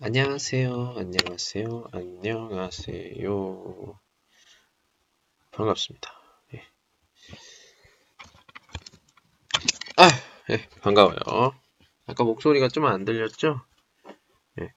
안녕하세요. 안녕하세요. 안녕하세요. 반갑습니다. 예. 반가워요. 아까 목소리가 좀 안 들렸죠? 예.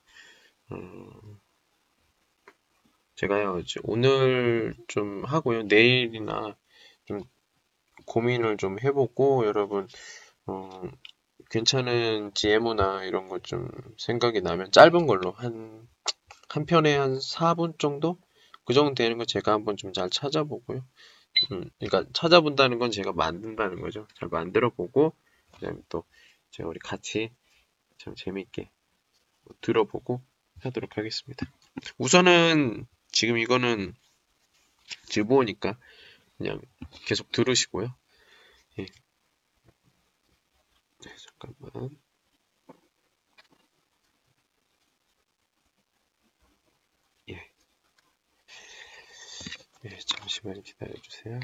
제가요, 오늘 좀 하고요. 내일이나 좀 고민을 좀 해보고, 여러분, 어, 괜찮은 GMO나 이런 거 좀 생각이 나면 짧은 걸로 한 편에 한 4분 정도? 그 정도 되는 거 제가 한번 좀 잘 찾아보고요. 그러니까 찾아본다는 건 제가 만든다는 거죠. 잘 만들어 보고, 그다음에 또 제가 우리 같이 참 재밌게 들어보고 하도록 하겠습니다. 우선은 지금 이거는 즐보니까 그냥 계속 들으시고요. 예, 네, 잠깐만. 예, 예, 잠시만 기다려주세요.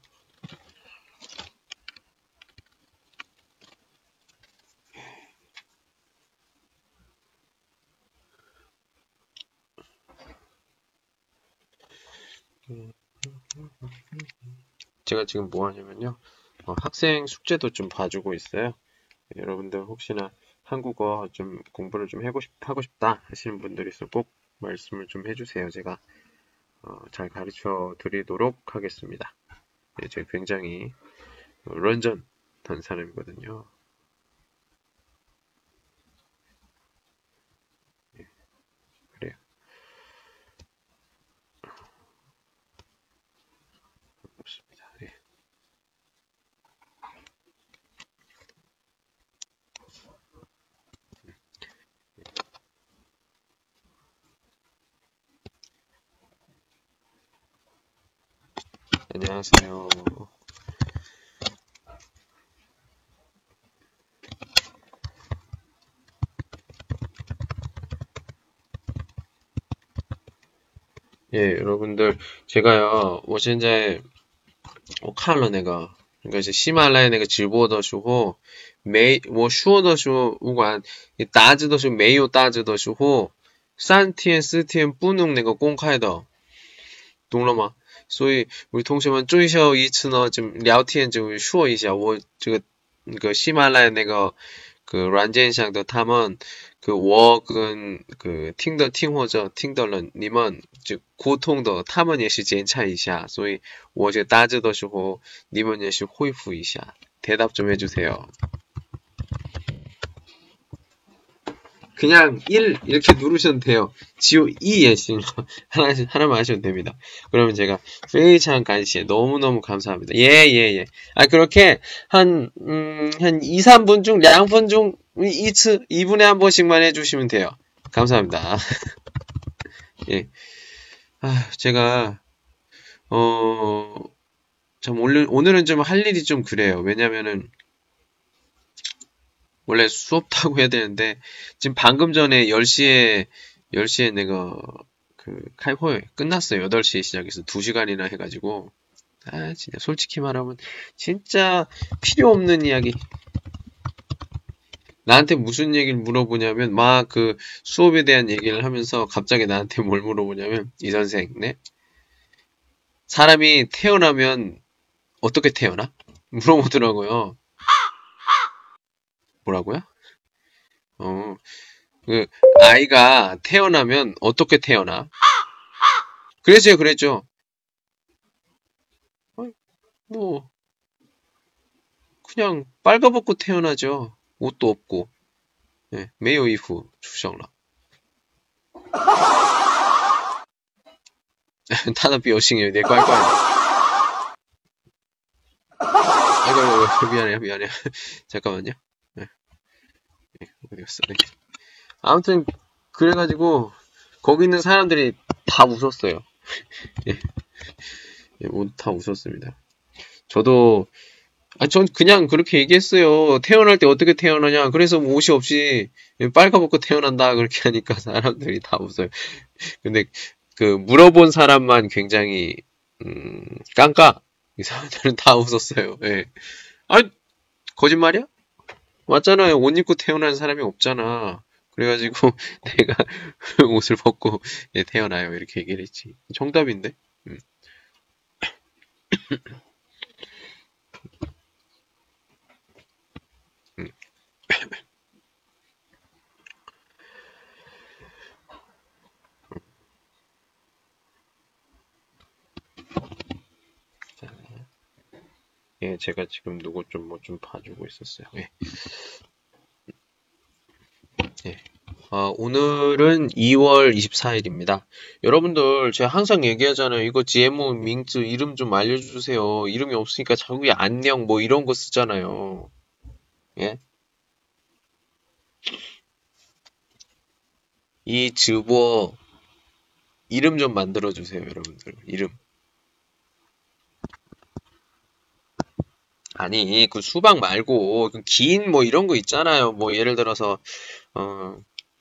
제가 지금 뭐 하냐면요. 학생 숙제도 좀 봐주고 있어요. 여러분들 혹시나 한국어 좀 공부를 좀 하고 싶다 하시는 분들 있으면 꼭 말씀을 좀 해주세요. 제가 잘 가르쳐 드리도록 하겠습니다. 네, 제가 굉장히 런전한 사람이거든요. 네, 그래요. 반갑습니다. 네. 안녕하세요. 예, 여러분들 제가요, 我现在我看了那个 그러니까 이제喜马拉雅那个直播的时候，我说的时候，不管你答字的时候没有答字的时候，3天4天不能那个公开的，懂了吗？所以우리同学们最后一次呢，就聊天就说一下，我这个那个喜马拉雅那个软件上的他们我跟听或者听的人，你们就沟通的，他们也是检查一下，所以我就打字的时候，你们也是回复一下，대답 좀 해주세요. 그냥 1 이렇게 누르셔도 돼요. 지호 2 예시는 하나만 하셔도 됩니다. 그러면 제가 非常感谢 너무너무 감사합니다. 예. 그렇게 한 2, 3분 중 2분 중 2분에 한 번씩만 해주시면 돼요. 감사합니다. 예. 제가 참 오늘은 좀 할 일이 좀 그래요. 왜냐면은 원래 수업 타고 해야 되는데 지금 방금 전에 10시에 내가 칼포에 끝났어요. 8시에 시작해서 2시간이나 해가지고 진짜 솔직히 말하면 진짜 필요 없는 이야기. 나한테 무슨 얘기를 물어보냐면 막 수업에 대한 얘기를 하면서 갑자기 나한테 뭘 물어보냐면 이 선생, 네? 사람이 태어나면 어떻게 태어나? 물어보더라고요. 뭐라고요? 아이가 태어나면 어떻게 태어나? 그랬죠. 뭐, 그냥 빨가벗고 태어나죠. 옷도 없고. 네, 没有衣服出生了. 他的表情有点怪怪的. 아이고, 미안해. 잠깐만요. 네, 어디 갔어? 네. 아무튼, 그래가지고, 거기 있는 사람들이 다 웃었어요. 예, 다 웃었습니다. 저도, 전 그냥 그렇게 얘기했어요. 태어날 때 어떻게 태어나냐. 그래서 뭐 옷이 없이 빨가벗고 태어난다. 그렇게 하니까 사람들이 다 웃어요. 근데 물어본 사람만 굉장히 깡까. 이 사람들은 다 웃었어요. 예. 거짓말이야? 맞잖아요. 옷 입고 태어난 사람이 없잖아. 그래가지고 내가 옷을 벗고 예, 태어나요. 이렇게 얘기를 했지. 정답인데? 음. 음. 예, 제가 지금 누구 좀 뭐 좀 봐주고 있었어요. 예. 예. 오늘은 2월 24일입니다. 여러분들, 제가 항상 얘기하잖아요. 이거 GMO 밍즈 이름 좀 알려주세요. 이름이 없으니까 자국이 안녕 뭐 이런 거 쓰잖아요. 예? 이 즈보 이름 좀 만들어주세요, 여러분들. 이름. 아니, 그 수박 말고, 그 긴 뭐 이런 거 있잖아요. 뭐 예를 들어서, 어,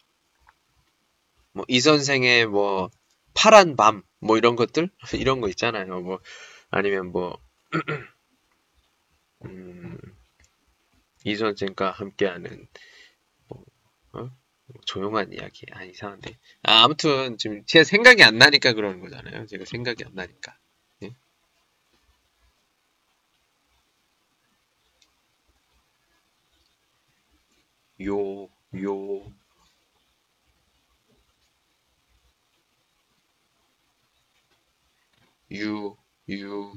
뭐 이 선생의 뭐 파란 밤, 뭐 이런 것들? 이런 거 있잖아요. 뭐, 아니면 뭐, 음, 이 선생과 함께하는, 뭐, 어? 조용한 이야기. 아, 이상한데. 아무튼, 지금 제가 생각이 안 나니까 그러는 거잖아요. 제가 생각이 안 나니까. 예? 요, 요, 유, 유.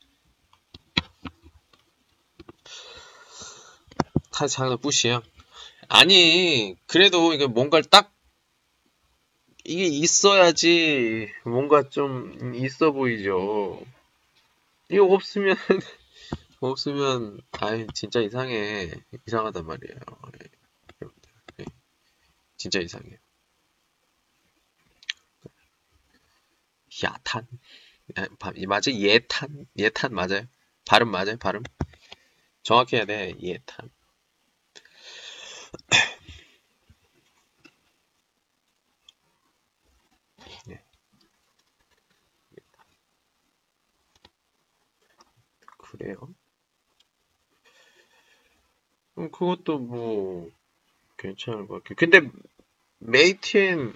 타장의 뿌시요? 아니, 그래도 이게 뭔가를 딱, 이게 있어야지 뭔가 좀 있어 보이죠. 이거 없으면, 없으면, 아이, 진짜 이상해. 이상하단 말이에요. 예, 여러분들. 예, 진짜 이상해요. 야탄. 맞아? 예탄? 예탄 맞아요? 발음 맞아요? 발음? 정확히 해야 돼. 예탄. 예, 그래요? 그것도 뭐, 괜찮을 것 같아요. 근데, 메이티엔,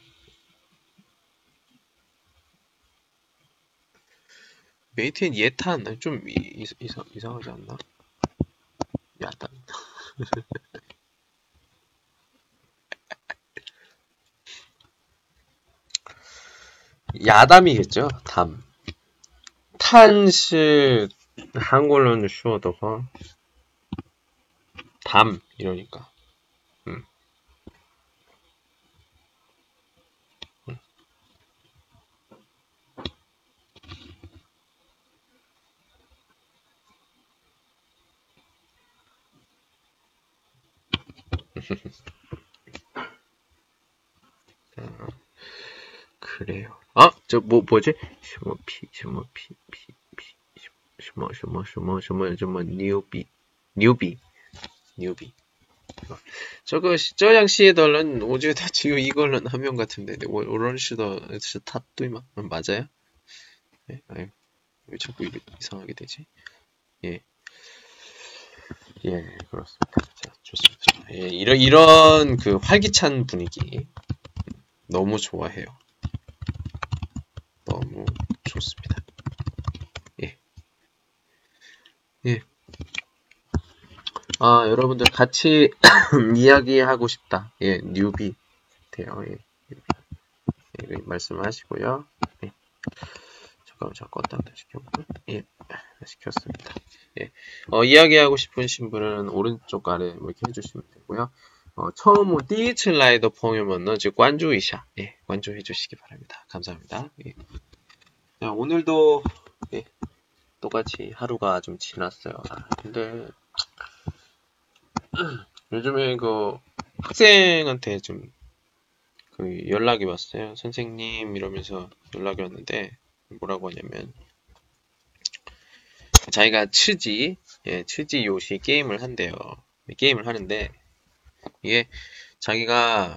메이티엔 예탄, 좀 이상하지 않나? 야탄. 야담이겠죠? 담. 탄시, 한글로는 쉬워도가, 담, 이러니까. 음. 그래요. 뭐지? 什么屁，什么屁，什么， 뉴비. 저장 시에달은 오즈에다 지금 이걸는 한명 같은데, 오런시더 스타뚜이마 맞아요? 네, 아유, 왜 자꾸 이상하게 되지? 예, 예, 그렇습니다. 자, 좋습니다. 예, 이런 그 활기찬 분위기 너무 좋아해요. 너무 좋습니다. 예, 예. 여러분들 같이 이야기하고 싶다. 예, 뉴비 돼요. 예, 예, 말씀하시고요. 예. 잠깐만, 잠깐 다시 켰고. 예, 다시 켰습니다. 예, 이야기하고 싶으신 분은 오른쪽 아래 뭐 이렇게 해주시면 되고요. 처음 第一次来的朋友们呢就关注一下. 예, 관주해 주시기 바랍니다. 감사합니다. 예. 자, 오늘도 예, 똑같이 하루가 좀 지났어요. 근데 요즘에 그 학생한테 좀 그 연락이 왔어요. 선생님 이러면서 연락이 왔는데 뭐라고 하냐면 자기가 츠지 요시 게임을 한대요. 게임을 하는데 이게 자기가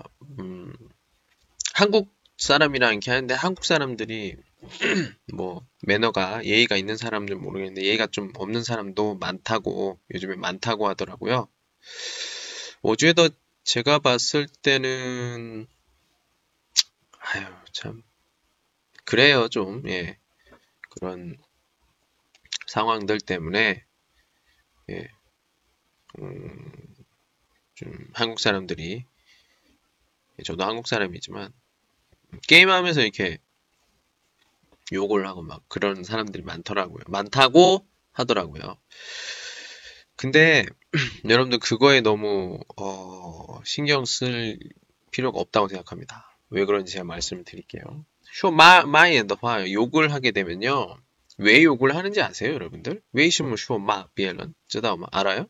한국 사람이랑 이렇게 하는데 한국 사람들이 뭐 매너가 예의가 있는 사람들은 모르겠는데 예의가 좀 없는 사람도 많다고 요즘에 많다고 하더라고요. 我觉得 제가 봤을 때는, 아유, 참, 그래요, 좀, 예. 그런 상황들 때문에, 예, 음, 좀 한국 사람들이, 저도 한국 사람이지만, 게임하면서 이렇게 욕을 하고 막 그런 사람들이 많더라고요. 많다고 하더라고요. 근데 여러분들 그거에 너무 신경 쓸 필요가 없다고 생각합니다. 왜 그런지 제가 말씀을 드릴게요. 쇼마마이엔더화 욕을 하게 되면요. 왜 욕을 하는지 아세요, 여러분들? 왜什么 쇼마 비엘런? 知道吗? 알아요?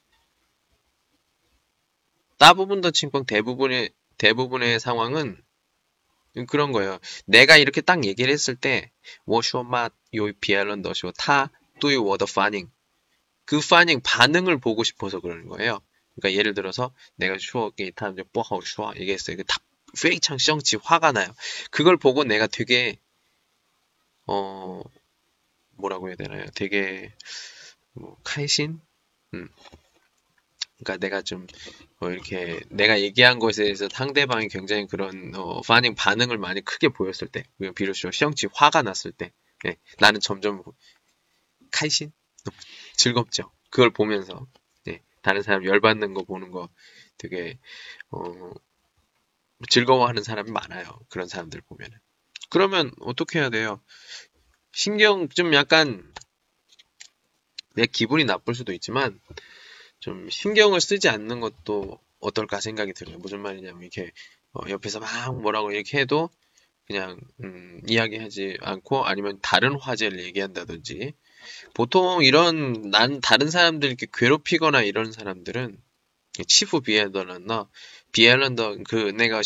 다부분더 칭광 대부분의 상황은 그런 거예요. 내가 이렇게 딱 얘기를 했을 때, 我说嘛有 비엘런 더쇼 타对我的反应 그 반응을 보고 싶어서 그러는 거예요. 그러니까 예를 들어서 내가 추억이 타면 뽀하고 슈아 얘기했어요. 그 다 페이창 성치 화가 나요. 그걸 보고 내가 되게 어 뭐라고 해야 되나요? 되게 뭐 카이신? 음. 그러니까 내가 좀 이렇게 내가 얘기한 것에 대해서 상대방이 굉장히 그런 반응을 많이 크게 보였을 때, 비로소 시영치 화가 났을 때, 네, 나는 점점 카이신 즐겁죠. 그걸 보면서 네, 다른 사람 열받는 거 보는 거 되게 어, 즐거워하는 사람이 많아요. 그런 사람들 보면은. 그러면 어떻게 해야 돼요? 신경 좀 약간 내 기분이 나쁠 수도 있지만 좀 신경을 쓰지 않는 것도 어떨까 생각이 들어요. 무슨 말이냐면 이렇게 옆에서 막 뭐라고 이렇게 해도 그냥 이야기하지 않고 아니면 다른 화제를 얘기한다든지 보통 이런 난 다른 사람들 이렇게 괴롭히거나 이런 사람들은 치프 비엘런더 비엘런더 그 내가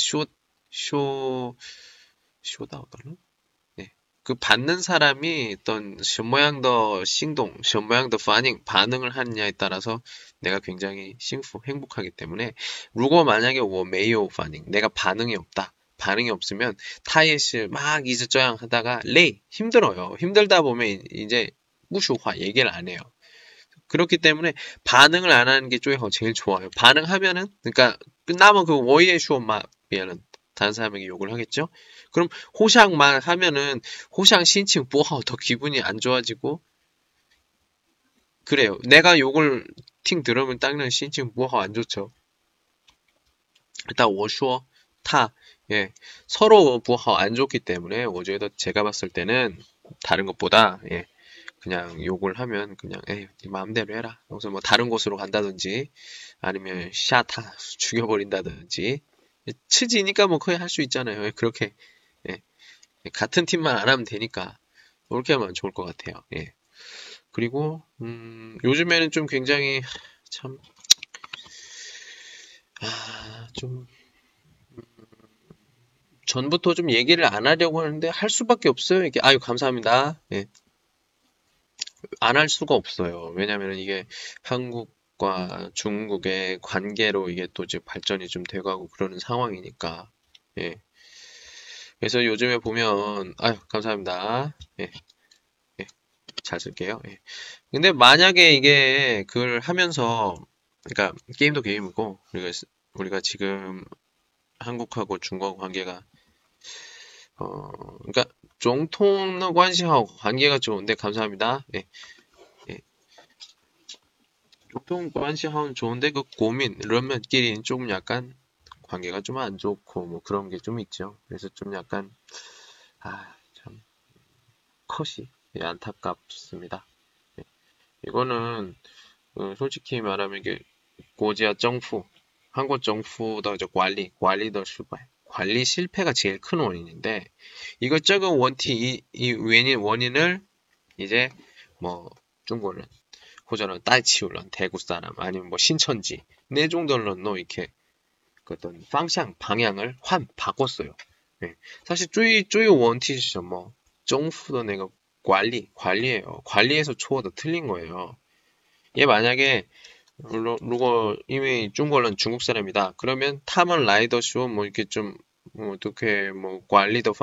쇼다우더는 네. 그 받는 사람이 어떤 什么样的 행동, 什么样的 반응을 하느냐에 따라서 내가 굉장히 행복하기 때문에 如果 만약에 我没有 반응, 내가 반응이 없다. 반응이 없으면 타이시 막 이즈저양 하다가 레이 힘들어요. 힘들다 보면 이제 무슈화 얘기를 안 해요. 그렇기 때문에 반응을 안 하는 게 쪼이하고 제일 좋아요. 반응하면은 그러니까 끝나면 그 워이의 슈엄마 비에는 다른 사람에게 욕을 하겠죠? 그럼 호샹만 하면은 호샹 신칭 뭐하고 더 기분이 안 좋아지고 그래요. 내가 욕을 팅 들으면 당연히 신칭 뭐하고 안 좋죠. 일단 我说 타 예. 서로 뭐하고 안 좋기 때문에 我觉得 제가 봤을 때는 다른 것보다 예. 그냥 욕을 하면 그냥 에이 네 마음대로 해라. 그래서 뭐 다른 곳으로 간다든지 아니면 샤타 죽여버린다든지 치지니까 뭐 거의 할 수 있잖아요. 그렇게 예. 같은 팀만 안 하면 되니까 그렇게 하면 좋을 것 같아요. 예. 그리고 요즘에는 좀 굉장히 참 좀 전부터 좀 얘기를 안 하려고 하는데 할 수밖에 없어요. 이게 아유 감사합니다. 예. 안 할 수가 없어요. 왜냐면 이게 한국과 중국의 관계로 이게 또 이제 발전이 좀 돼가고 그러는 상황이니까. 예. 그래서 요즘에 보면, 아유, 감사합니다. 예, 예, 잘 쓸게요. 예. 근데 만약에 이게 그걸 하면서, 그러니까 게임도 게임이고, 우리가 지금 한국하고 중국하고 관계가, 그러니까 정통의 관시하고 관계가 좋은데, 감사합니다. 예, 예. 정통 관시하고는 좋은데 그 고민, 런면끼리는 조금 약간 관계가 좀 안 좋고 뭐 그런 게 좀 있죠. 그래서 좀 약간 참 컷이 예, 안타깝습니다. 예. 이거는 솔직히 말하면 이게 고지아 정부, 한국 정부의 관리의 실패, 관리 실패가 제일 큰 원인인데 이것저것 이 원인을 이제 뭐 중국은 호전은 따이치울런 대구 사람 아니면 뭐 신천지 네 정도는 이렇게 그 어떤 방향을 바꿨어요. 예. 사실 쪼이 원티시죠 뭐 정부도 내가 관리예요. 관리에서 초어도 틀린 거예요. 얘 만약에 如果因为 중국은 중국 사람이다. 그러면 타먼 라이더쇼 뭐 이렇게 좀 어떻게 뭐 관리의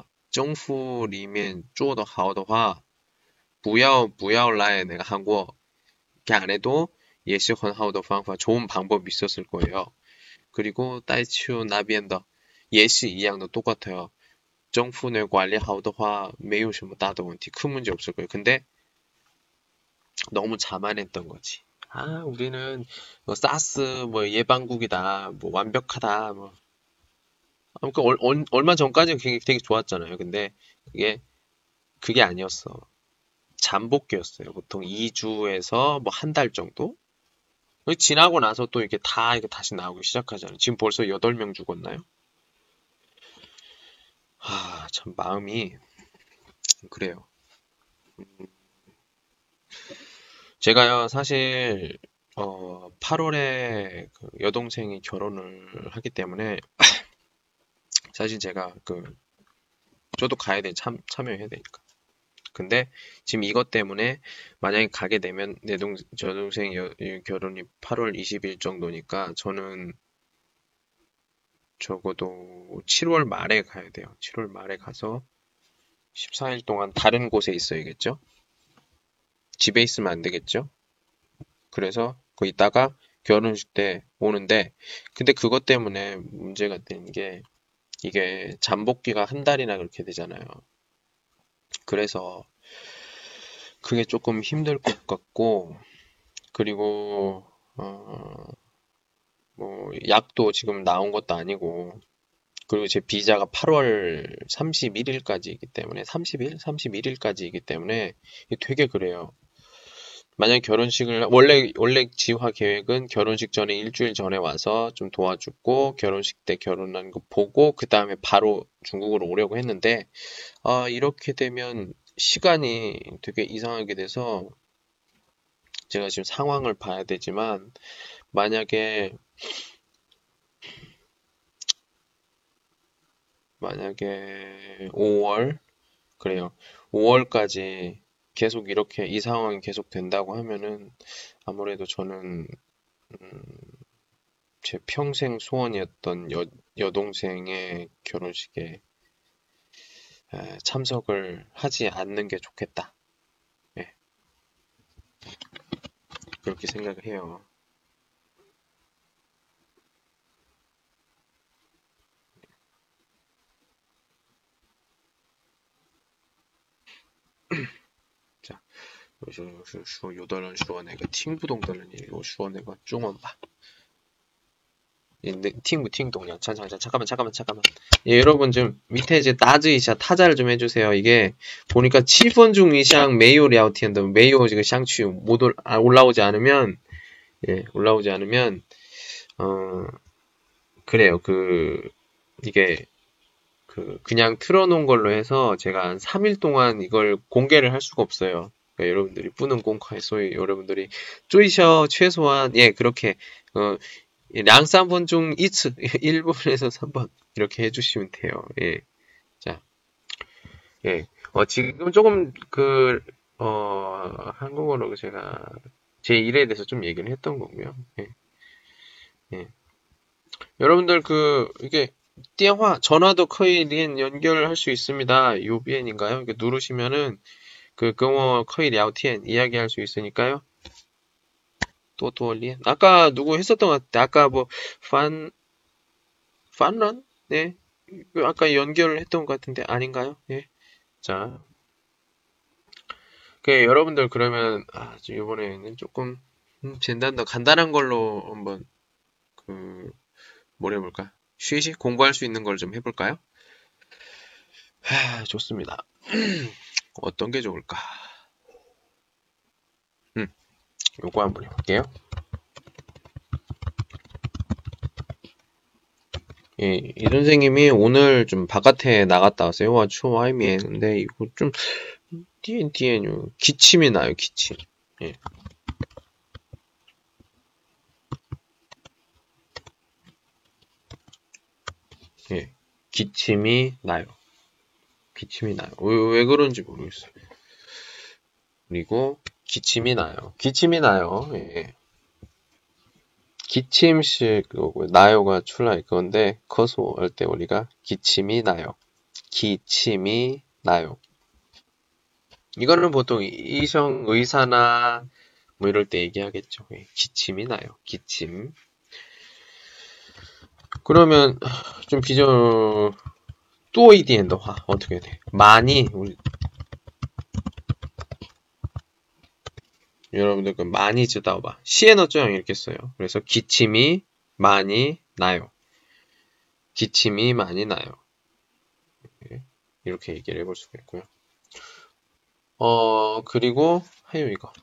方法政府里面做得好的话不要 내가 한국 이렇게 안 해도 也是很好的方法 좋은 방법이 있었을 거예요. 그리고 따이치우 나비엔더 예시 이 양도 똑같아요. 정부의 관리 好的话 没有什么大的问题. 큰 문제 없을 거예요. 근데 너무 자만했던 거지. 아, 우리는 뭐 사스 뭐 예방국이다. 뭐 완벽하다. 뭐 그러니까 얼마 전까지는 되게 좋았잖아요. 근데 그게 아니었어. 잠복기였어요. 보통 2주에서 뭐 한 달 정도? 지나고 나서 또 이게 다 이거 다시 나오기 시작하잖아요. 지금 벌써 8명 죽었나요? 아, 참 마음이 그래요. 제가요, 사실 8월에 그 여동생이 결혼을 하기 때문에 사실 제가 저도 가야 돼, 참여해야 되니까. 근데 지금 이것 때문에 만약에 가게 되면 여동생 결혼이 8월 20일 정도니까 저는 적어도 7월 말에 가야 돼요. 7월 말에 가서 14일 동안 다른 곳에 있어야겠죠? 집에 있으면 안 되겠죠? 그래서 그 있다가 결혼식 때 오는데, 근데 그것 때문에 문제가 되는 게 이게 잠복기가 한 달이나 그렇게 되잖아요. 그래서 그게 조금 힘들 것 같고, 그리고 뭐 약도 지금 나온 것도 아니고, 그리고 제 비자가 8월 31일까지이기 때문에 30일, 31일까지이기 때문에 되게 그래요. 만약에 결혼식을 원래 지화 계획은 결혼식 전에 일주일 전에 와서 좀 도와주고 결혼식 때 결혼한 거 보고 그 다음에 바로 중국으로 오려고 했는데 이렇게 되면 시간이 되게 이상하게 돼서 제가 지금 상황을 봐야 되지만 만약에 5월 그래요. 5월까지 계속 이렇게 이 상황이 계속 된다고 하면은 아무래도 저는 제 평생 소원이었던 여동생의 결혼식에 참석을 하지 않는 게 좋겠다. 예, 그렇게 생각을 해요. 자, 有的人说那个听不懂的人也有说那个中文吧。听不听懂냐? 잠깐만. 예, 여러분 좀 밑에 이제 따즈이샤 타자를 좀 해주세요. 이게 보니까 7번 중 이상 메이오 랴오티엔더 메이오 지금 샹취 못 올라오지 않으면 올라오지 않으면 그래요. 이게 그냥 틀어놓은 걸로 해서 제가 한 3일 동안 이걸 공개를 할 수가 없어요. 그러니까 여러분들이 뿌는 공카에 여러분들이 쪼이셔 최소한 그렇게 량 3번 중 이츠 1번에서 3번 이렇게 해주시면 돼요. 예. 자, 지금 조금 한국어로 제가 제 일에 대해서 좀 얘기를 했던 거고요. 예. 여러분들 이게 전화도 거의 연결할 수 있습니다. 요비엔인가요? 이렇게 누르시면은 경어 거의 랴오티엔 이야기할 수 있으니까요. 또리엔 아까 누구 했었던 것 같아. 아까 판런? 네. 아까 연결을 했던 것 같은데 아닌가요? 예. 자. 여러분들 그러면 이번에는 조금 간단한 걸로 한번 뭘 해볼까? 쉬시 공부할 수 있는 걸 좀 해볼까요? 좋습니다. 어떤 게 좋을까? 요거 한번 해볼게요. 이 선생님이 오늘 좀 바깥에 나갔다 왔어요. 와, 추워, 하이미에. 근데 이거 좀, 디엔요. 기침이 나요, 기침. 예. 기침이 나요. 왜 그런지 모르겠어요. 그리고, 기침이 나요. 예. 기침식 나요가 출라일 건데 커서 할 때 우리가 기침이 나요. 이거는 보통 의사나 뭐 이럴 때 얘기하겠죠. 기침이 나요. 기침. 그러면 좀 비교 또一点的话 어떻게 돼? 많이 우리 여러분들 그 많이 知道吧? 시에너쩌형 이렇게 써요. 그래서 기침이 많이 나요. 기침이 많이 나요. 이렇게 얘기를 해볼 수가 있고요. 그리고 하요 이거.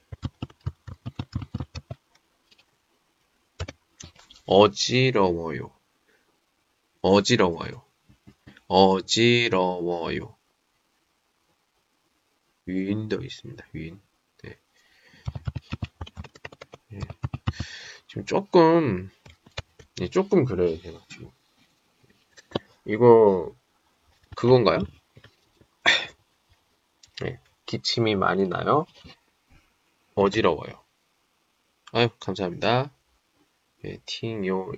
어지러워요. 어지러워요. 어지러워요. 위인도 있습니다. 위인. 네. 네. 지금 조금 그래요, 제가 지금. 이거, 그건가요? 네. 기침이 많이 나요? 어지러워요. 아유, 감사합니다. 예, 팅요,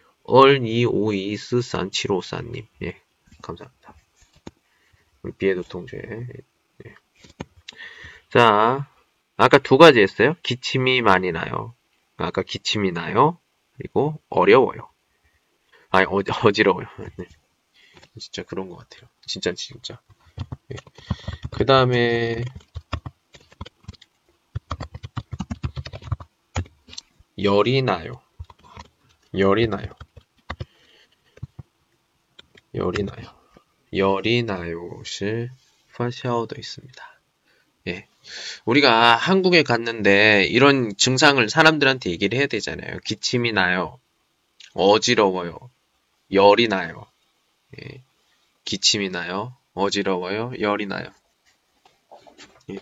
얼252437544님. 예, 감사합니다. 우리 비에도 동체. 예. 자, 아까 두 가지 했어요. 기침이 많이 나요. 아까 기침이 나요. 그리고 어려워요. 아니, 어지러워요. 네. 진짜 그런 것 같아요. 진짜. 네. 그 다음에, 열이 나요. 열이 나요. 열이 나요. 열이 나요시 파샤오도 있습니다. 예. 우리가 한국에 갔는데 이런 증상을 사람들한테 얘기를 해야 되잖아요. 기침이 나요. 어지러워요. 열이 나요. 예. 기침이 나요. 어지러워요. 열이 나요. 예.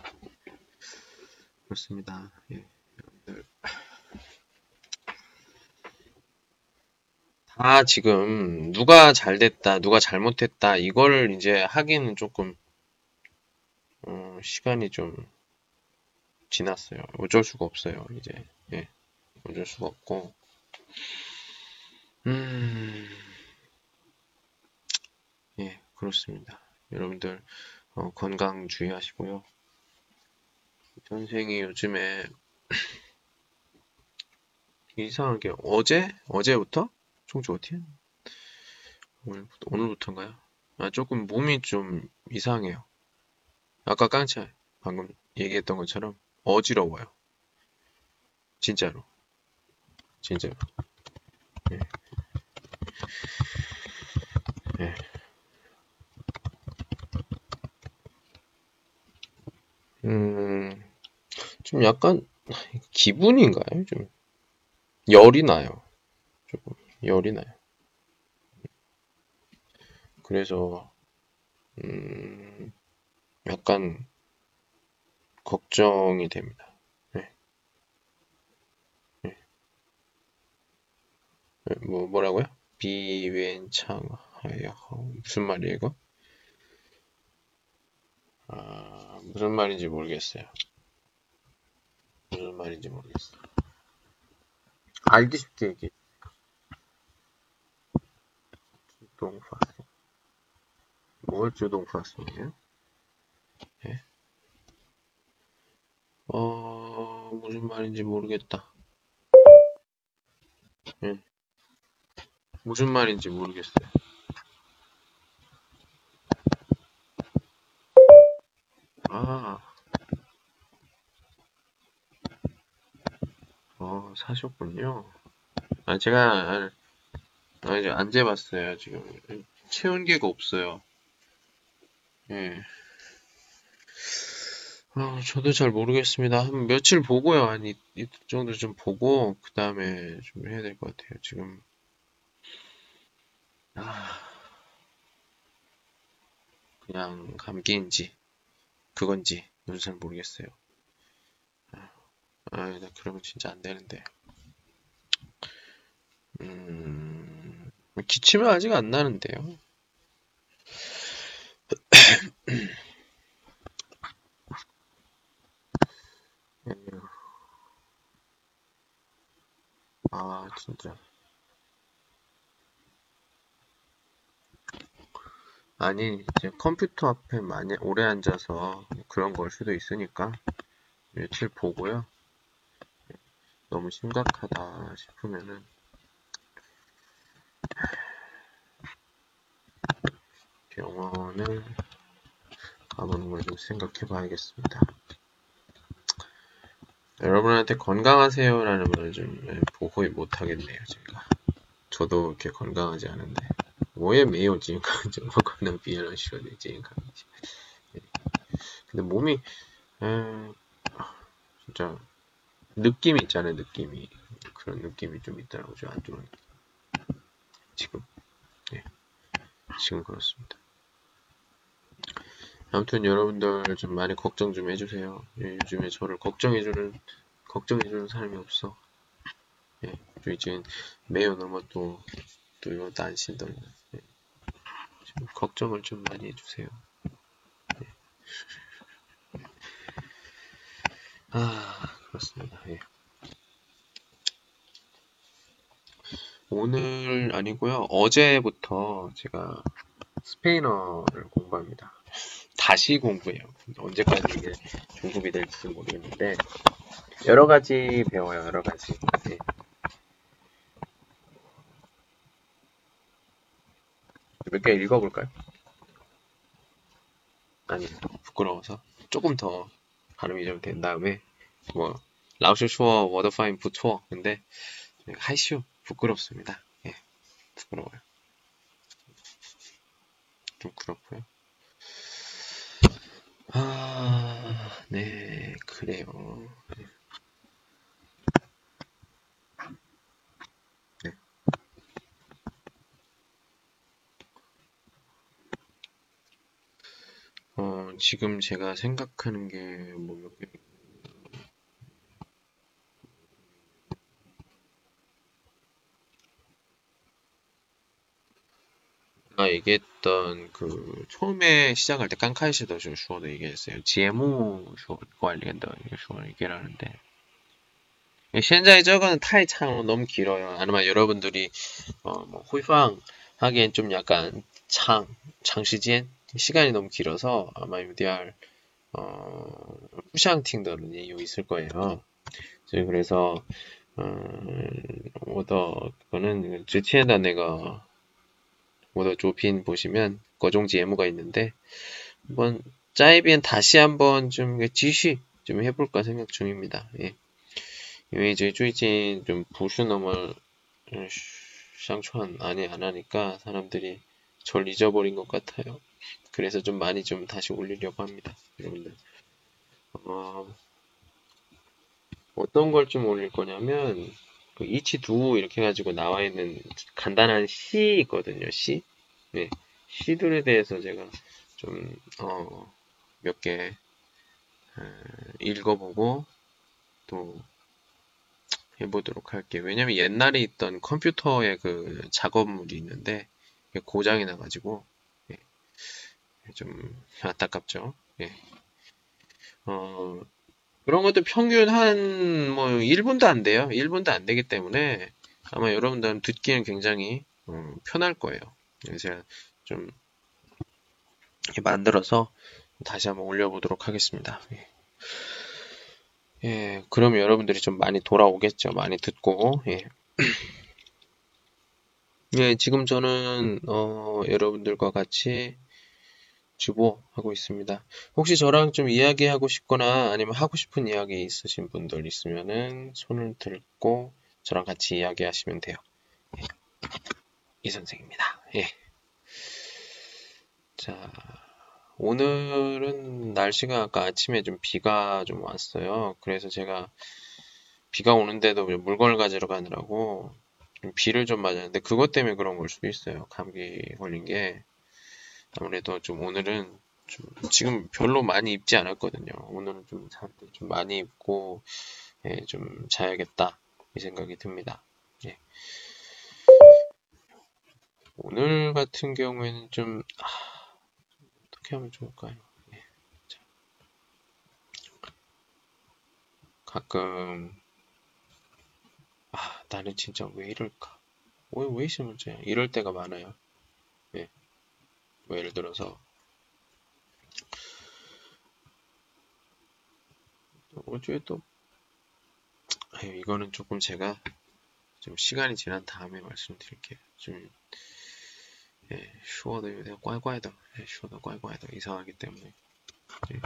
그렇습니다. 예. 다 지금 누가 잘 됐다, 누가 잘못했다 이걸 이제 하기는 조금 시간이 좀 지났어요. 어쩔 수가 없어요. 이제 예. 어쩔 수가 없고 예, 그렇습니다. 여러분들 건강 주의하시고요. 선생이 요즘에 이상하게 어제부터? 총주 어떻게? 오늘부터인가요? 아, 조금 몸이 좀 이상해요. 아까 깡차 방금 얘기했던 것처럼 어지러워요. 진짜로. 예. 예. 좀 약간 기분인가요? 좀 열이 나요. 조금 열이 나요. 그래서 약간 걱정이 됩니다. 네. 네. 뭐라고요? 비웬창하여 무슨 말이에요 이거? 아, 무슨 말인지 모르겠어요. 무슨 말인지 모르겠어요. 알기 쉽게 얘기. 주동파송. 뭘 주동파송이에요? 예? 무슨 말인지 모르겠다. 예. 무슨 말인지 모르겠어요. 아, 사셨군요. 아, 제가 이제 안 재봤어요. 지금 채운 게가 없어요. 예. 저도 잘 모르겠습니다. 한 며칠 보고요. 한 이틀 정도 좀 보고 그 다음에 좀 해야 될 것 같아요. 지금 그냥 감기인지 그건지 저도 잘 모르겠어요. 나 그러면 진짜 안 되는데. 기침은 아직 안 나는데요. 진짜. 아니, 이제 컴퓨터 앞에 많이 오래 앉아서 그런 걸 수도 있으니까 며칠 보고요. 너무 심각하다 싶으면은 병원을 가보는 걸 좀 생각해 봐야겠습니다. 여러분한테 건강하세요라는 말을 좀 거의 못하겠네요, 제가. 저도 이렇게 건강하지 않은데. 我也没有健康，怎么可能别人说的健康？ 근데 몸이, 진짜, 느낌이 있잖아요, 느낌이. 그런 느낌이 좀 있더라고요, 좀 안 좋은. 지금, 네. 지금 그렇습니다. 아무튼 여러분들 좀 많이 걱정 좀 해주세요. 예, 요즘에 저를 걱정해주는 사람이 없어. 예, 最近没有那么多对我担心的人。 예, 좀 걱정을 좀 많이 해주세요. 예. 그렇습니다. 예. 오늘 아니고요. 어제부터 제가 스페인어를 공부합니다. 다시 공부해요. 언제까지 이게 중급이 될지 모르겠는데 여러 가지 배워요. 여러 가지. 예. 몇 개 읽어볼까요? 아니, 부끄러워서 조금 더 발음이 좀 된 다음에 뭐 라오스 슈어 워더 파인 부투어 근데 하이슈 부끄럽습니다. 예, 부끄러워요. 좀 그렇고요. 네, 그래요. 네. 지금 제가 생각하는 게 뭐 몇 개. 얘기했던 그 처음에 시작할 때 깡카이시더 슈어도 얘기했어요. 제무 슈어 관련된 슈어 얘기를 하는데 现在这个太长 너무 길어요. 아니면 여러분들이 뭐 호이팡 하기엔 좀 약간 장시간 시간이 너무 길어서 아마 UDR 후샹팅더는 이유 있을 거예요. 그래서 我的 之前的 내가 我的 조핀 보시면 거종 제무가 있는데 한번 짜이비엔 다시 한번 좀 지시 좀 해볼까 생각 중입니다. 예. 因为最近좀 부슈너멀 샹추한 아니 안 하니까 사람들이 절 잊어버린 것 같아요. 그래서 좀 많이 좀 다시 올리려고 합니다. 여러분들. 어떤 걸 좀 올릴 거냐면 그 이치두 이렇게 해가지고 나와 있는 간단한 시 있거든요. 시. 네. 시들에 대해서 제가 좀 몇 개 읽어보고 또 해보도록 할게요. 왜냐면 옛날에 있던 컴퓨터의 그 작업물이 있는데 고장이 나가지고 예, 좀 안타깝죠. 예. 그런 것도 평균 한 뭐 1분도 안 돼요. 1분도 안 되기 때문에 아마 여러분들은 듣기는 굉장히 편할 거예요. 그래서 제가 좀 이렇게 만들어서 다시 한번 올려보도록 하겠습니다. 예. 예, 그러면 여러분들이 좀 많이 돌아오겠죠. 많이 듣고. 예. 예, 지금 저는 여러분들과 같이 주보하고 있습니다. 혹시 저랑 좀 이야기하고 싶거나 아니면 하고 싶은 이야기 있으신 분들 있으면은 손을 들고 저랑 같이 이야기하시면 돼요. 예. 이 선생입니다. 예. 자, 오늘은 날씨가 아까 아침에 좀 비가 좀 왔어요. 그래서 제가 비가 오는데도 물건을 가지러 가느라고 비를 좀 맞았는데 그것 때문에 그런 걸 수도 있어요. 감기 걸린 게. 아무래도 좀 오늘은 좀 지금 별로 많이 입지 않았거든요. 오늘은 좀 많이 입고 예, 좀 자야겠다 이 생각이 듭니다. 예. 오늘 같은 경우에는 좀 어떻게 하면 좋을까요? 예. 가끔 나는 진짜 왜 이럴까? 왜 문제야? 이럴 때가 많아요. 예. 뭐 예를 들어서 어제 또 이거는 조금 제가 좀 시간이 지난 다음에 말씀드릴게요. 좀 说的有点怪怪的，说的怪怪的，이상하기 때문에. 예.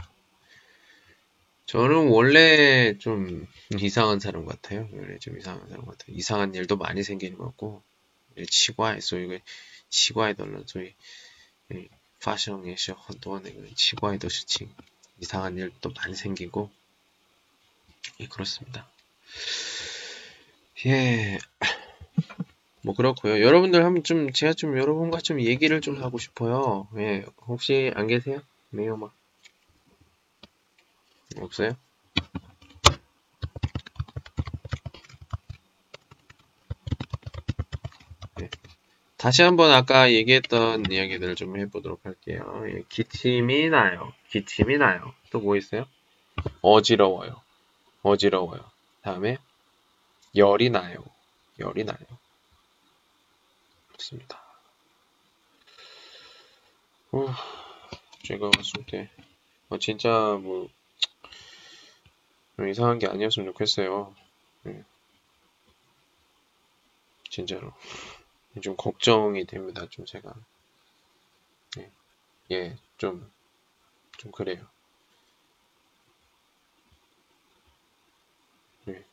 저는 원래 좀 이상한 사람 같아요. 원래 좀 이상한 사람 같아요. 이상한 일도 많이 생기는 것 같고, 치과에, 소위, 치과에 덜런, 소위, 파션에서 헌도하는 치과에 더 스칭. 이상한 일도 많이 생기고, 그렇습니다. 예, 뭐 그렇고요. 여러분들 한번 좀 제가 좀 여러분과 좀 얘기를 좀 하고 싶어요. 예, 혹시 안 계세요? 네요, 막 없어요? 예. 다시 한번 아까 얘기했던 이야기들을 좀 해보도록 할게요. 예, 기침이 나요. 기침이 나요. 또 뭐 있어요? 어지러워요. 어지러워요. 다음에 열이 나요. 열이 나요. 그렇습니다. 제가 봤을 때 진짜 뭐 이상한 게 아니었으면 좋겠어요. 예, 진짜로 좀 걱정이 됩니다. 좀 제가 좀 그래요. 예,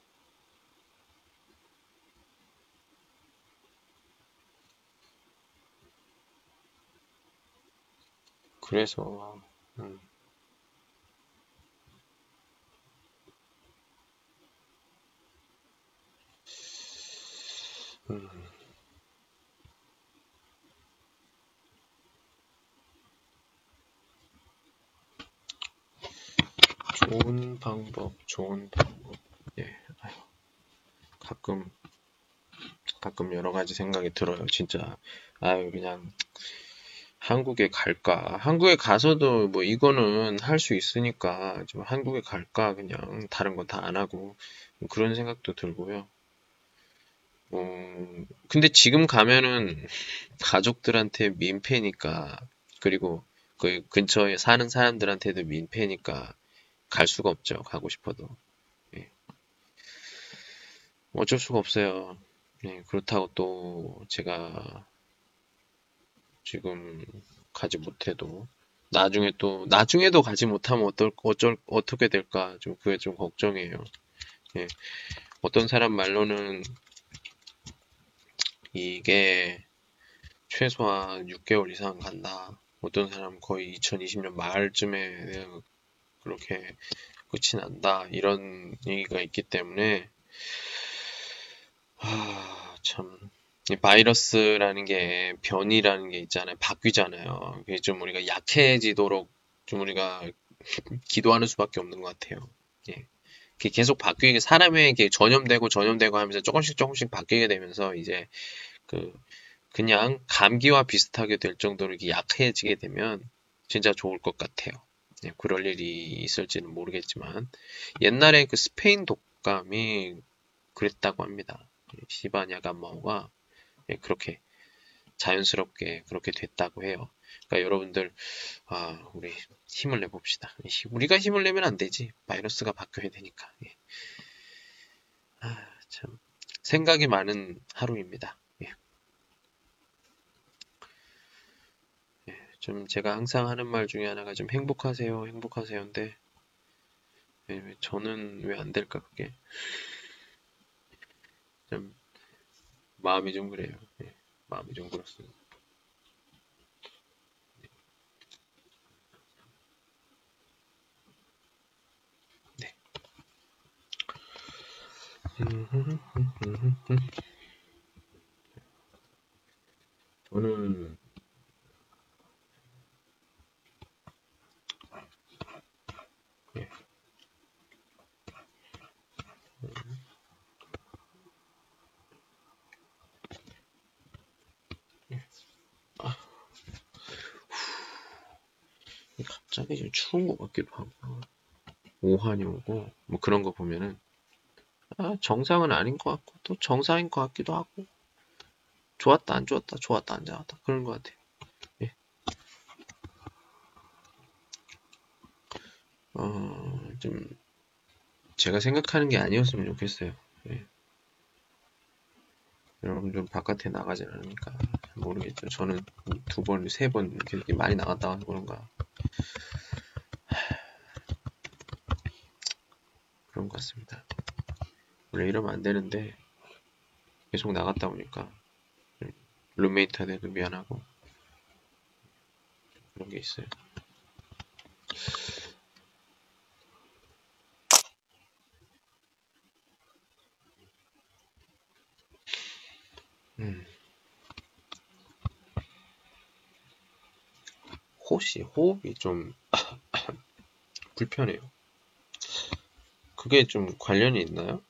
그래서 음, 음, 좋은 방법, 좋은 방법. 예, 아유, 가끔 여러 가지 생각이 들어요. 진짜 아유 그냥 한국에 갈까? 한국에 가서도 뭐 이거는 할 수 있으니까 좀 한국에 갈까? 그냥 다른 건 다 안 하고 뭐 그런 생각도 들고요. 근데 지금 가면은 가족들한테 민폐니까 그리고 그 근처에 사는 사람들한테도 민폐니까 갈 수가 없죠. 가고 싶어도. 예. 어쩔 수가 없어요. 네, 그렇다고 또 제가 지금 가지 못해도 나중에도 가지 못하면 어떻게 될까 좀 그게 좀 걱정이에요. 예. 어떤 사람 말로는 이게 최소한 6개월 이상 간다. 어떤 사람 거의 2020년 말쯤에 그렇게 끝이 난다. 이런 얘기가 있기 때문에 참 이 바이러스라는 게 변이라는 게 있잖아요. 바뀌잖아요. 그게 좀 우리가 약해지도록 좀 우리가 기도하는 수밖에 없는 것 같아요. 예. 그게 계속 바뀌게 사람에게 전염되고 하면서 조금씩 바뀌게 되면서 이제 그 그냥 감기와 비슷하게 될 정도로 이렇게 약해지게 되면 진짜 좋을 것 같아요. 예, 그럴 일이 있을지는 모르겠지만 옛날에 그 스페인 독감이 그랬다고 합니다. 시바냐 감마오가 그렇게 자연스럽게 그렇게 됐다고 해요. 그러니까 여러분들 우리 힘을 내봅시다. 우리가 힘을 내면 안 되지. 바이러스가 바뀌어야 되니까. 예. 참 생각이 많은 하루입니다. 예. 좀 제가 항상 하는 말 중에 하나가 좀 행복하세요, 행복하세요인데 저는 왜 안 될까 그게 좀 마음이 좀 그래요. 예. 마음이 좀 그렇습니다. 네. 저는 예. 갑자기 좀 추운 것 같기도 하고 오한이 오고 뭐 그런 거 보면은 정상은 아닌 것 같고 또 정상인 것 같기도 하고 좋았다 안 좋았다 좋았다 안 좋았다 그런 것 같아요. 예. 좀 제가 생각하는 게 아니었으면 좋겠어요. 예. 여러분들 바깥에 나가진 않으니까 모르겠죠. 저는 2번, 3번 이렇게 많이 나갔다 와서 그런가 그런 것 같습니다. 원래 이러면 안 되는데 계속 나갔다 오니까 룸메이트한테도 미안하고 그런 게 있어요. 호흡이 좀 불편해요. 그게 좀 관련이 있나요?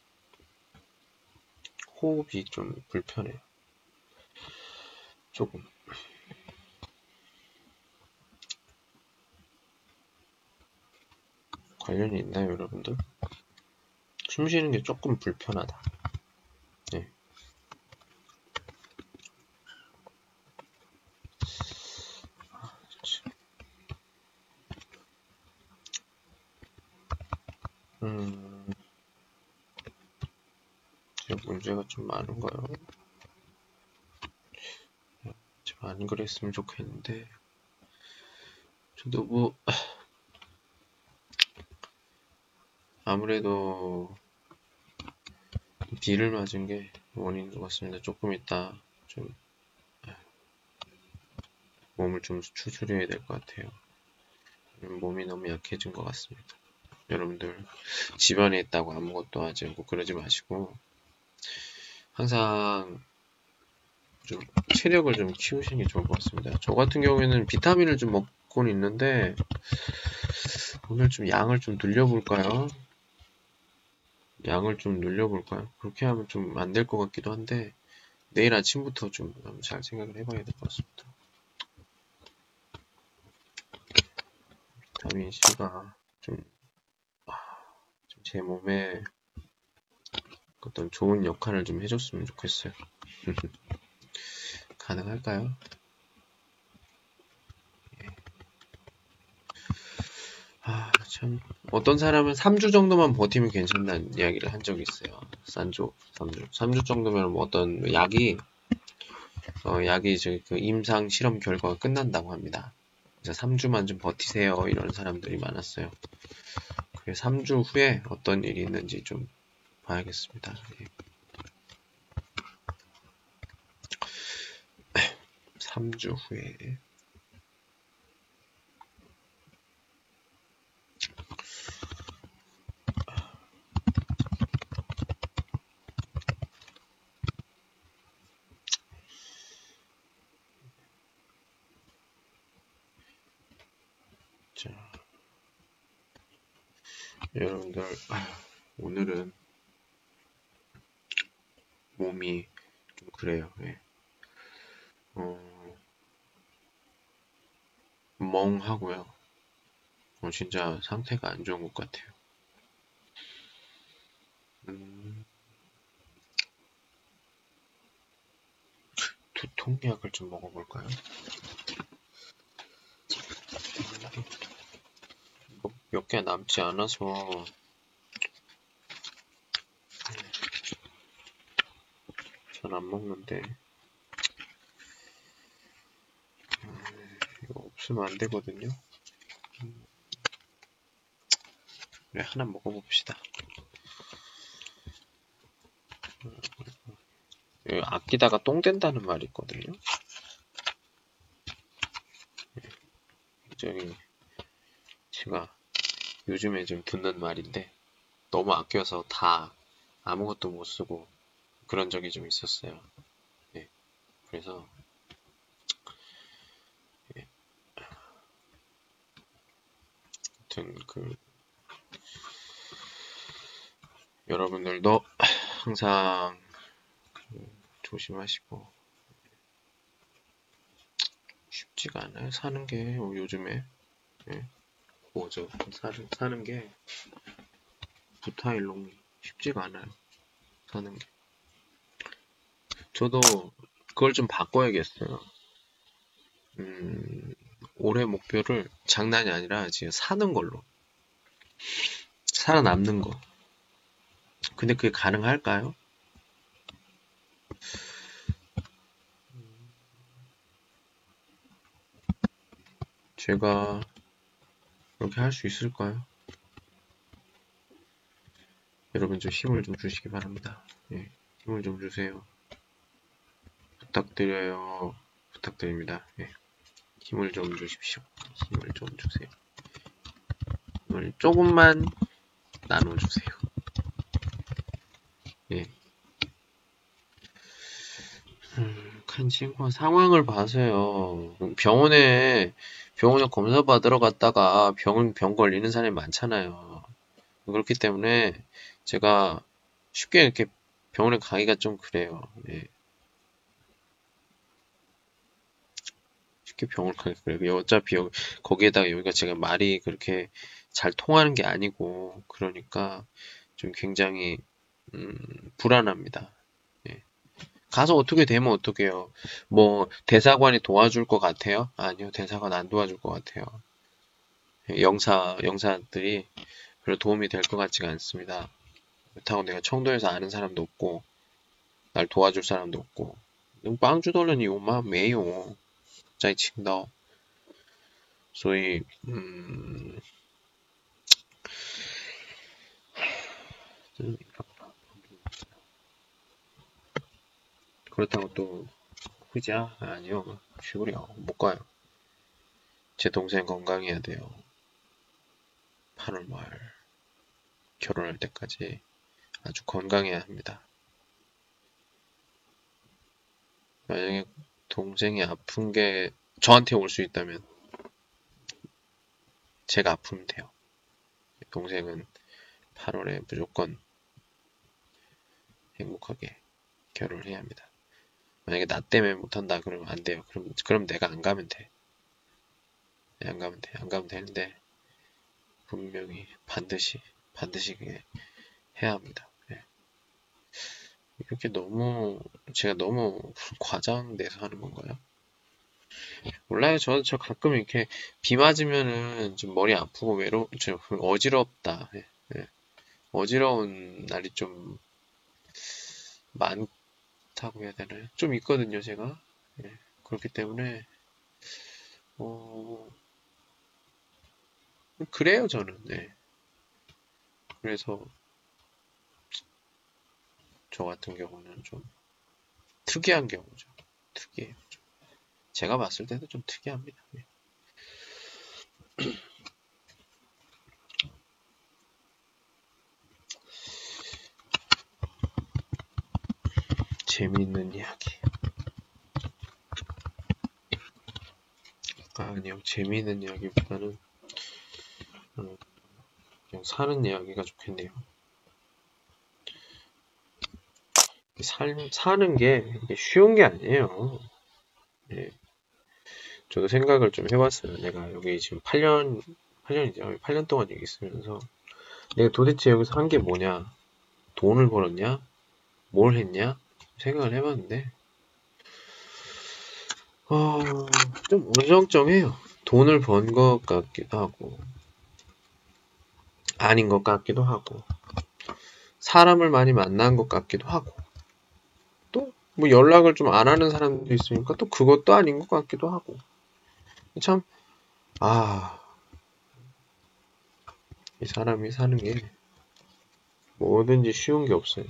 호흡이 좀 불편해요. 조금. 관련이 있나요, 여러분들? 숨 쉬는 게 조금 불편하다. 네. 제가 문제가 좀 많은가요? 좀 안 그랬으면 좋겠는데 저도 뭐 아무래도 비를 맞은 게 원인인 것 같습니다. 조금 있다 좀 몸을 좀 추스려야 될 것 같아요. 몸이 너무 약해진 것 같습니다. 여러분들 집안에 있다고 아무것도 하지 않고 그러지 마시고 항상 좀 체력을 좀 키우시는 게 좋을 것 같습니다. 저 같은 경우에는 비타민을 좀 먹고는 있는데 오늘 좀 양을 좀 늘려볼까요? 양을 좀 늘려볼까요? 그렇게 하면 좀 안 될 것 같기도 한데 내일 아침부터 좀 잘 생각을 해봐야 될 것 같습니다. 비타민 C가 좀 제 몸에 어떤 좋은 역할을 좀 해줬으면 좋겠어요. 가능할까요? 참 어떤 사람은 3주 정도만 버티면 괜찮다는 이야기를 한 적이 있어요. 3주 정도면 뭐 어떤 약이 그 임상 실험 결과가 끝난다고 합니다. 그래서 3주만 좀 버티세요 이런 사람들이 많았어요. 그래서 3주 후에 어떤 일이 있는지 좀 봐야겠습니다. 예. 3주 후에 자, 여러분들 오늘은 몸이 좀 그래요. 예. 멍하고요. 진짜 상태가 안 좋은 것 같아요. 두통약을 좀 먹어볼까요? 몇 개 남지 않아서 잘 안 먹는데 이거 없으면 안 되거든요. 그래, 하나 먹어봅시다. 아끼다가 똥 된다는 말이 있거든요. 저기 제가 요즘에 좀 듣는 말인데 너무 아껴서 다 아무것도 못 쓰고 그런 적이 좀 있었어요. 네, 그래서 아무튼 여러분들도 항상 조심하시고 쉽지가 않아요. 사는 게 요즘에 뭐죠? 사는 게 부타일롱이 쉽지가 않아요. 사는 게. 저도 그걸 좀 바꿔야겠어요. 올해 목표를 장난이 아니라 지금 사는 걸로. 살아남는 거. 근데 그게 가능할까요? 제가 그렇게 할 수 있을까요? 여러분 좀 힘을 좀 주시기 바랍니다. 예, 힘을 좀 주세요. 부탁드려요. 부탁드립니다. 예, 힘을 좀 주십시오. 힘을 좀 주세요. 힘을 조금만 나눠주세요. 예. 한 친구가 상황을 봐서요. 병원에 검사 받으러 갔다가 병 걸리는 사람이 많잖아요. 그렇기 때문에 제가 쉽게 이렇게 병원에 가기가 좀 그래요. 예. 쉽게 병원을 가기 그래요. 어차피 거기에다가 여기가 제가 말이 그렇게 잘 통하는 게 아니고 그러니까 좀 굉장히 불안합니다. 예. 가서 어떻게 되면 어떡해요? 뭐 대사관이 도와줄 것 같아요? 아니요, 대사관 안 도와줄 것 같아요. 영사들이 별로 도움이 될 것 같지가 않습니다. 그렇다고 내가 청도에서 아는 사람도 없고 날 도와줄 사람도 없고帮助到了你吗？没有，在青岛，所以그렇다고 또 후자 아니요, 쉬우려 못 가요. 제 동생 건강해야 돼요. 8월 말 결혼할 때까지 아주 건강해야 합니다. 만약에 동생이 아픈 게 저한테 올 수 있다면 제가 아프면 돼요. 동생은 8월에 무조건 행복하게 결혼을 해야 합니다. 만약에 나 때문에 못한다 그러면 안 돼요. 그럼 내가 안 가면 돼. 안 가면 돼. 안 가면 되는데 분명히 반드시 그게 해야 합니다. 네. 이렇게 제가 너무 과장돼서 하는 건가요? 몰라요. 저 가끔 이렇게 비 맞으면은 좀 머리 아프고 좀 어지럽다. 예, 예. 어지러운 날이 좀 많다고 해야 되나요? 좀 있거든요, 제가. 예. 그렇기 때문에 그래요, 저는. 네. 그래서 저 같은 경우는 좀 특이한 경우죠. 특이해요. 제가 봤을 때도 좀 특이합니다. 네. 재미있는 이야기. 아니요, 재미있는 이야기보다는 그냥 사는 이야기가 좋겠네요. 사는 게 쉬운 게 아니에요. 예. 저도 생각을 좀 해봤어요. 내가 여기 지금 8년이죠. 8년 동안 여기 있으면서 내가 도대체 여기서 한 게 뭐냐? 돈을 벌었냐? 뭘 했냐? 생각을 해봤는데 좀 어정쩡해요. 돈을 번 것 같기도 하고 아닌 것 같기도 하고 사람을 많이 만난 것 같기도 하고 또 뭐 연락을 좀 안 하는 사람도 있으니까 또 그것도 아닌 것 같기도 하고 참, 이 사람이 사는 게 뭐든지 쉬운 게 없어요.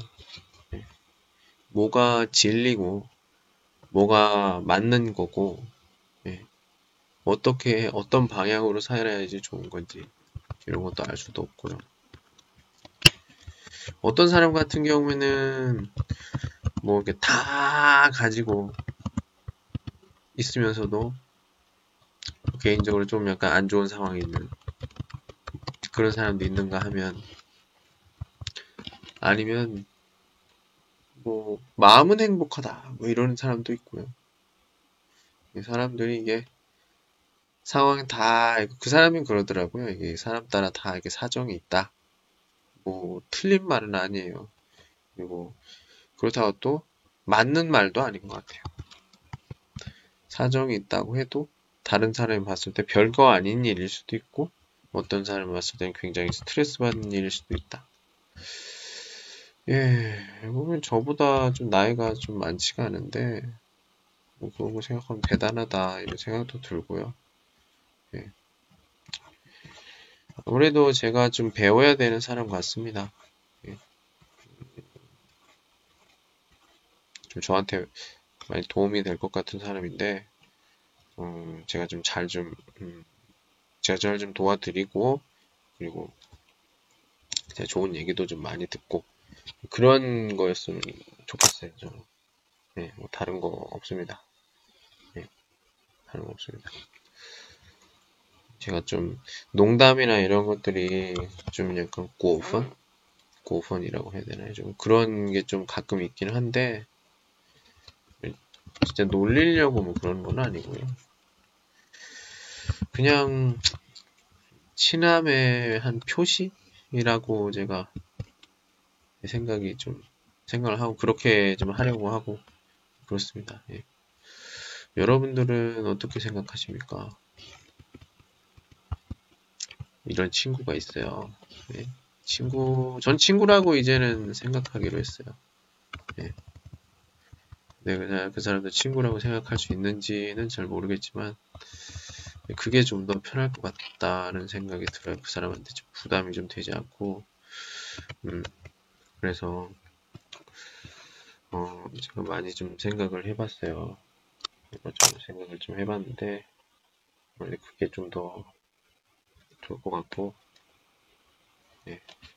뭐가 진리고 뭐가 맞는 거고 어떤 방향으로 살아야지 좋은 건지 이런 것도 알 수도 없고요. 어떤 사람 같은 경우에는 뭐 이렇게 다 가지고 있으면서도 개인적으로 좀 약간 안 좋은 상황이 있는 그런 사람도 있는가 하면 아니면 뭐 마음은 행복하다 뭐 이런 사람도 있고요. 이 사람들이 이게 상황이 다 그 사람이 그러더라고요. 이게 사람 따라 다 이게 사정이 있다. 뭐 틀린 말은 아니에요. 그리고 그렇다고 또 맞는 말도 아닌 것 같아요. 사정이 있다고 해도 다른 사람이 봤을 때 별거 아닌 일일 수도 있고 어떤 사람이 봤을 때는 굉장히 스트레스 받는 일일 수도 있다. 예, 보면 저보다 좀 나이가 좀 많지가 않은데 뭐 그런 거 생각하면 대단하다 이런 생각도 들고요. 예. 아무래도 제가 좀 배워야 되는 사람 같습니다. 예. 좀 저한테 많이 도움이 될 것 같은 사람인데, 제가 좀 제가 잘 좀 도와드리고, 그리고 제가 좋은 얘기도 좀 많이 듣고, 그런 거였으면 좋겠어요, 저는. 네, 뭐 다른 거 없습니다. 네, 다른 거 없습니다. 제가 좀 농담이나 이런 것들이 좀 약간 고펀이라고 해야 되나요? 좀 그런 게 좀 가끔 있긴 한데, 진짜 놀리려고 뭐 그런 건 아니고요. 그냥 친함의 한 표시이라고 제가 생각을 하고 그렇게 좀 하려고 하고 그렇습니다. 예. 여러분들은 어떻게 생각하십니까? 이런 친구가 있어요. 예. 전 친구라고 이제는 생각하기로 했어요. 예. 내가 그 사람도 친구라고 생각할 수 있는지는 잘 모르겠지만, 그게 좀 더 편할 것 같다는 생각이 들어요. 그 사람한테 좀 부담이 좀 되지 않고, 그래서, 제가 많이 좀 생각을 해봤어요. 좀 생각을 좀 해봤는데, 원래 그게 좀 더 좋을 것 같고, 예.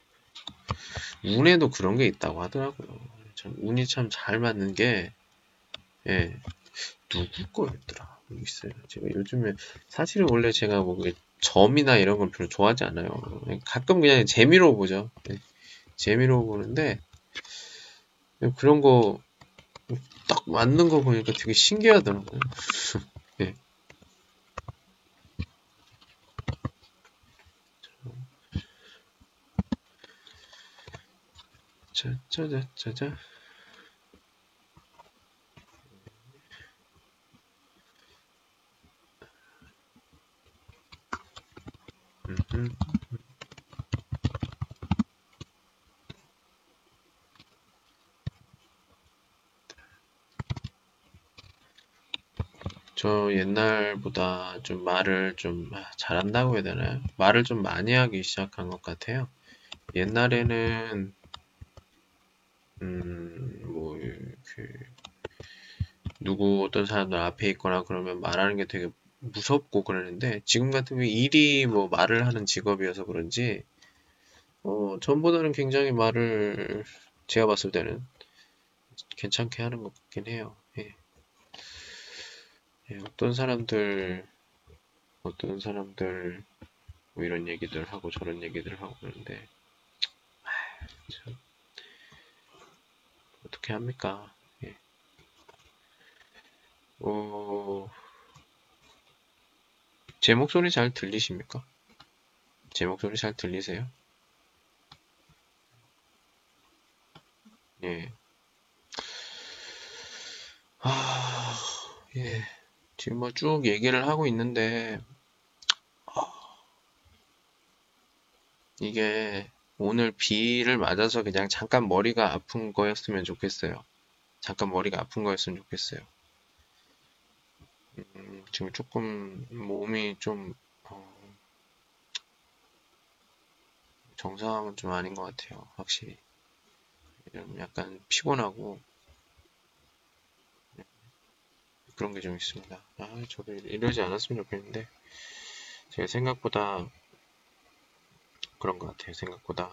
운에도 그런 게 있다고 하더라고요. 참 운이 참 잘 맞는 게, 예, 누구 거였더라? 있어요. 제가 요즘에, 사실은 원래 제가 뭐, 점이나 이런 건 별로 좋아하지 않아요. 가끔 그냥 재미로 보죠. 예, 재미로 보는데, 그런 거, 딱 맞는 거 보니까 되게 신기하더라고요. 예. 짜자자자. 음. 저 옛날보다 좀 말을 좀 잘한다고 해야 되나요? 말을 좀 많이 하기 시작한 것 같아요. 옛날에는 뭐 누구 어떤 사람들 앞에 있거나 그러면 말하는 게 되게 무섭고 그러는데 지금 같은 경우에 일이 뭐 말을 하는 직업이어서 그런지 전보다는 굉장히 말을 제가 봤을 때는 괜찮게 하는 것 같긴 해요. 예. 예, 어떤 사람들 뭐 이런 얘기들 하고 저런 얘기들 하고 그러는데 참 어떻게 합니까? 예. 어, 제 목소리 잘 들리십니까? 제 목소리 잘 들리세요? 예. 아, 예. 지금 뭐 쭉 얘기를 하고 있는데 이게 오늘 비를 맞아서 그냥 잠깐 머리가 아픈 거였으면 좋겠어요. 잠깐 머리가 아픈 거였으면 좋겠어요. 지금 조금 몸이 좀 정상은 좀 아닌 것 같아요. 확실히. 좀 약간 피곤하고 그런 게 좀 있습니다. 저도 이러지 않았으면 좋겠는데 제가 생각보다 그런 것 같아요. 생각보다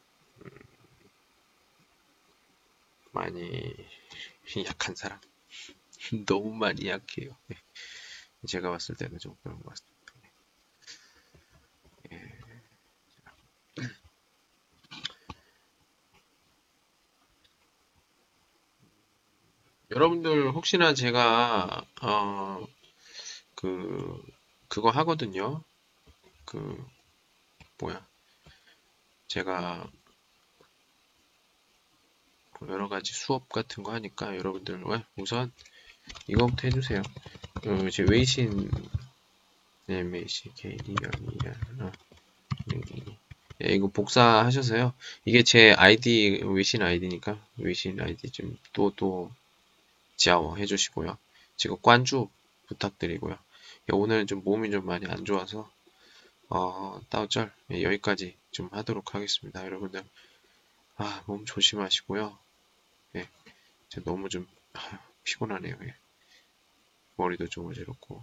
많이 약한 사람. 너무 많이 약해요. 제가 봤을 때는 좀 그런 것 같습니다. 예. 여러분들 혹시나 제가 그 그거 하거든요. 그 뭐야? 제가 여러 가지 수업 같은 거 하니까 여러분들 우선 이거부터 해주세요. 제 웨이신 메이시 KD연이야. 예, 이거 복사하셔서요. 이게 제 아이디 웨이신 아이디니까 웨이신 아이디 좀 또 지아워 해주시고요. 지금 관주 부탁드리고요. 오늘은 좀 몸이 좀 많이 안 좋아서 따오절 여기까지 좀 하도록 하겠습니다. 여러분들 몸 조심하시고요. 예, 너무 좀 피곤하네요. 예. 머리도 좀 어지럽고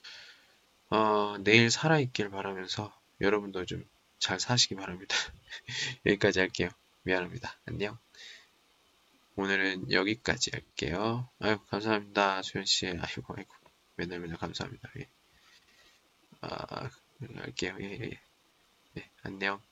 내일 살아있길 바라면서 여러분도 좀 잘 사시기 바랍니다. 여기까지 할게요. 미안합니다. 안녕. 오늘은 여기까지 할게요. 아유, 감사합니다. 수현씨. 아이고. 맨날 감사합니다. 예. 할게요. 예. 안녕.